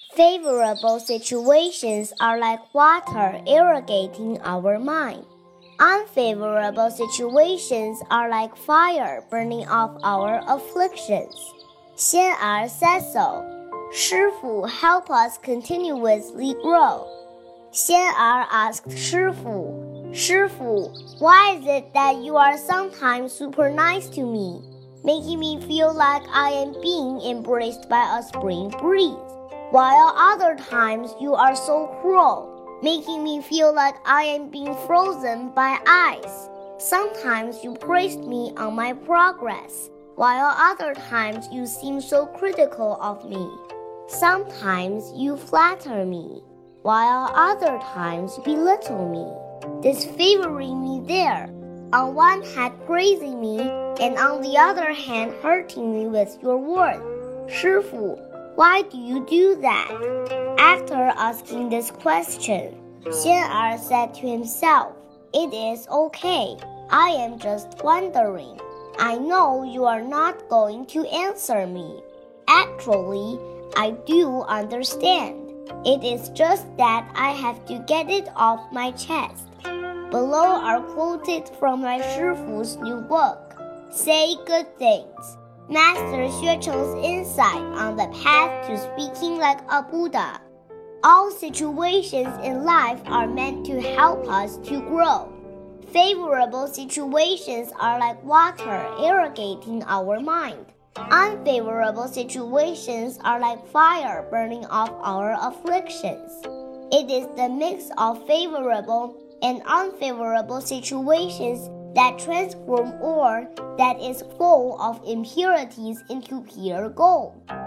Favorable situations are like water irrigating our mind. Unfavorable situations are like fire burning off our afflictions. Xian Er said so. 师傅 help us continuously grow. Xian Er asked 师傅, 师傅, why is it that you are sometimes super nice to me, making me feel like I am being embraced by a spring breeze, while other times you are so cruel, making me feel like I am being frozen by ice. Sometimes you praised me on my progress, while other times you seem so critical of me. Sometimes you flatter me, while other times you belittle me, disfavoring me there, on one hand praising me, and on the other hand hurting me with your words. 师傅, why do you do that? After asking this question, Xian Er said to himself, it is okay. I am just wondering. I know you are not going to answer me. Actually, I do understand. It is just that I have to get it off my chest. Below are quoted from my 师傅's new book, Say Good Things, Master Xue Cheng's insight on the path to speaking like a Buddha. All situations in life are meant to help us to grow. Favorable situations are like water irrigating our mind. Unfavorable situations are like fire burning off our afflictions. It is the mix of favorable and unfavorable situations that transform ore that is full of impurities into pure gold.